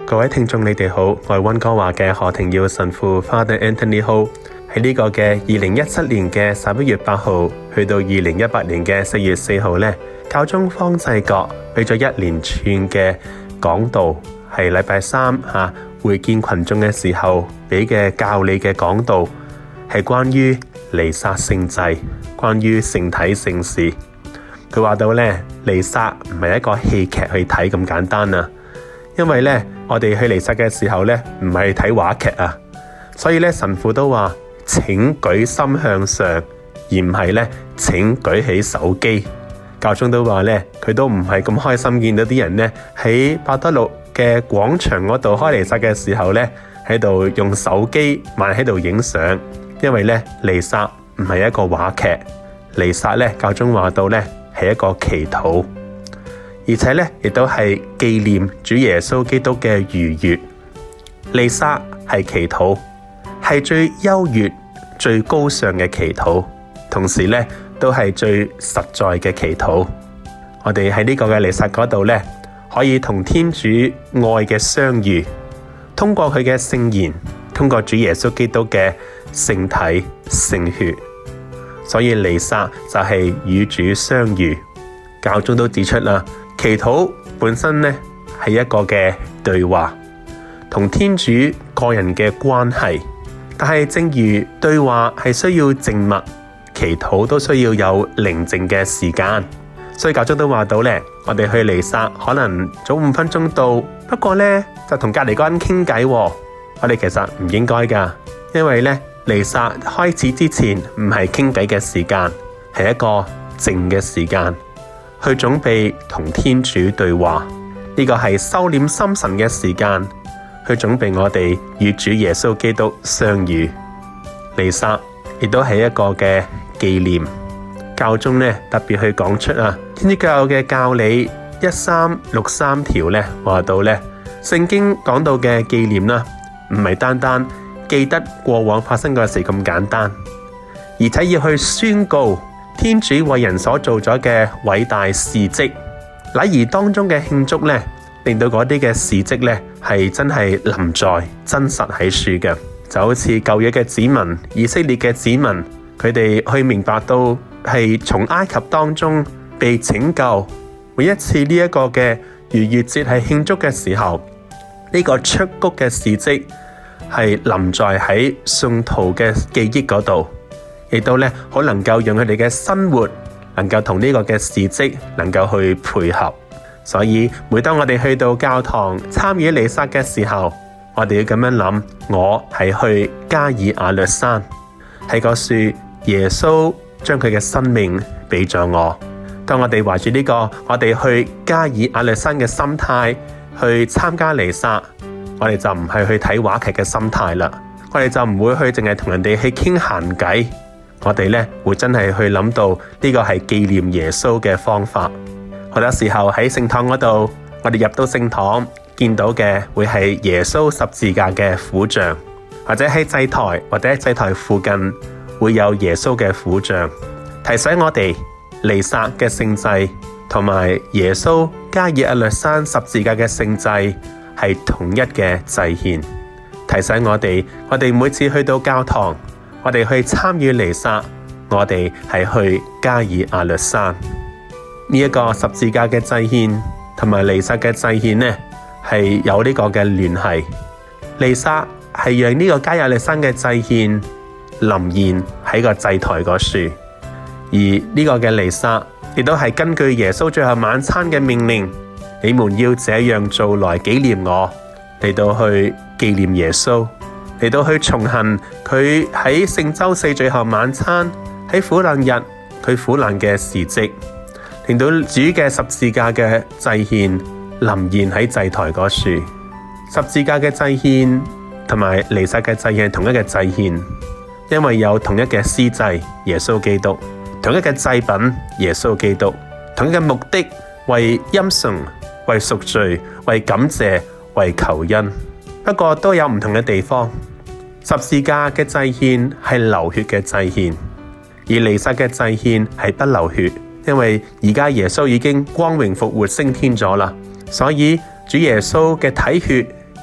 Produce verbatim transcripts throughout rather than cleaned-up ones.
各位聽眾你哋好，我係溫哥華嘅何庭耀神父 Father Anthony Ho。喺呢個嘅二零一七年嘅十一月八號去到二零一八年嘅四月四號呢，教宗方濟各俾咗一連串嘅講道，係禮拜三吓、啊、會見群眾嘅時候俾嘅教理嘅講道，係關於彌撒聖祭，關於聖體聖事。佢話到呢，彌撒唔係一個戲劇去睇咁簡單啊，因為呢，我哋去彌撒嘅時候呢，唔係睇話劇啊，所以呢，神父都話，請舉心向上，而唔係呢，請舉起手機。教宗都話呢，佢都唔係咁開心見到啲人呢喺伯多祿嘅廣場嗰度開彌撒嘅時候呢，喺度用手機埋喺度影相，因為呢，彌撒唔係一個話劇，彌撒呢，教宗話到呢，係一個祈禱，而且呢，亦都係紀念主耶穌基督嘅逾越。彌撒係祈禱，係最優越、最高尚嘅祈禱，同時呢，都係最實在嘅祈禱。我哋喺呢個嘅彌撒嗰度呢，可以同天主愛嘅相遇，通過佢嘅聖言，通過主耶穌基督嘅聖體聖血。所以彌撒就係與主相遇。教宗都指出啦，祈禱本身呢係一個嘅對話，同天主個人嘅關係。但係正如對話係需要靜默，祈禱都需要有寧靜嘅時間。所以教宗都話到呢，我哋去彌撒可能早五分鐘到，不過呢就同隔籬嗰人傾偈。我哋其實唔應該噶，因為呢，彌撒開始之前唔係傾偈嘅時間，係一個靜嘅時間，去準備同天主對話。呢個係收斂心神嘅時間，去準備我哋與主耶穌基督相遇。彌撒亦都係一個嘅紀念。教宗呢特別去講出啊，天主教嘅教理一三六三條呢話到呢，聖經講到嘅紀念啦，唔係單單記得過往發生嘅事咁簡單，而且要去宣告天主為人所做咗嘅偉大事蹟。禮儀當中嘅慶祝呢，令到嗰啲嘅事蹟呢係真係臨在真實喺處嘅，就好似舊約嘅子民、以色列嘅子民，佢哋去明白到係從埃及當中被拯救。每一次呢一個嘅逾越節係慶祝嘅時候，呢、這個出谷嘅事蹟係臨在喺信徒嘅記憶嗰度，亦都咧好能夠讓佢哋嘅生活能夠同呢個嘅事蹟能夠去配合。所以每當我哋去到教堂參與彌撒嘅時候，我哋要咁樣諗，我係去加爾亞略山，喺個樹耶穌將佢嘅生命俾咗我。當我哋懷住呢個我哋去加爾亞略山嘅心態去參加彌撒，我哋就唔係去睇話劇嘅心態啦，我哋就唔會去淨係同人哋去傾閒偈，我哋呢會真係去諗到呢個係紀念耶穌嘅方法。好多時候喺聖堂嗰度，我哋入到聖堂見到嘅會係耶穌十字架嘅苦像，或者喺祭台或者喺祭台附近會有耶穌嘅苦像，提醒我哋彌撒嘅聖祭同埋耶穌加爾亞略山十字架嘅聖祭係同一嘅祭獻，提醒我哋，我哋每次去到教堂，我哋去參與彌撒，我哋係去加爾亞略山。呢、這、一個十字架嘅祭獻同埋彌撒嘅祭獻呢，係有呢個嘅聯繫。彌撒係讓呢個加爾亞略山嘅祭獻臨現喺個祭台嗰處，而呢個嘅彌撒亦都係根據耶穌最後晚餐嘅命令，你們要這樣做來紀念我，嚟到去紀念耶穌，嚟到去重行佢喺聖週四最後晚餐喺苦難日佢苦難嘅事蹟，令到主嘅十字架嘅祭獻臨現喺祭台嗰處。十字架嘅祭獻同埋彌撒嘅祭獻係同一個祭獻，因為有同一嘅司祭耶穌基督，同一個祭品耶穌基督，同一個目的為欽崇、為贖罪、為感謝、為求恩。不過都有唔同嘅地方。十字架嘅祭獻係流血嘅祭獻，而彌撒嘅祭獻係不流血，因為而家耶穌已經光榮復活升天咗啦，所以主耶穌嘅體血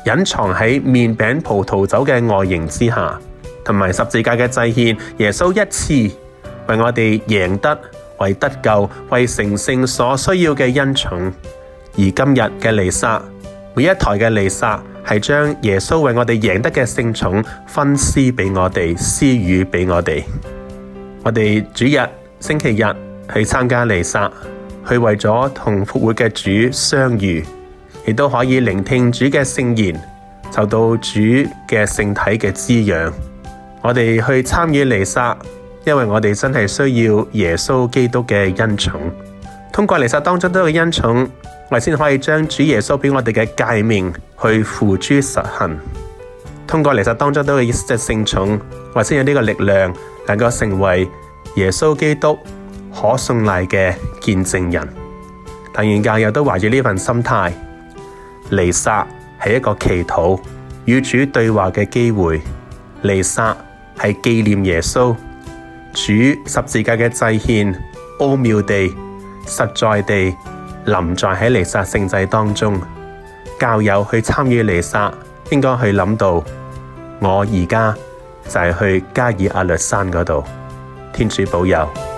隱藏喺麵餅葡萄酒嘅外形之下，同埋十字架嘅祭獻，耶穌一次為我哋贏得、為得救、為成聖所需要嘅恩寵。而今日嘅彌撒，每一台嘅彌撒係將耶穌為我哋贏得嘅聖寵分施俾我哋，施予俾我哋。我哋主日星期日去參加彌撒，去為咗同復活嘅主相遇，亦都可以聆聽主嘅聖言，受到主嘅聖體嘅滋養。我哋去參與彌撒，因為我哋真係需要耶穌基督嘅恩寵。通過彌撒當中都有恩寵，我哋先可以將主耶穌俾我哋嘅誡命去付諸實行。通過彌撒當中都有一隻聖寵，我哋先有呢個力量，能夠成為耶穌基督可信賴嘅見證人。但願教友都懷住呢份心態，彌撒係一個祈禱與主對話嘅機會，彌撒係紀念耶穌主十字架嘅祭獻，奧妙地實在地臨在喺彌撒聖祭當中。教友去參與彌撒，應該去諗到我而家就係去加爾阿略山嗰度。天主保佑。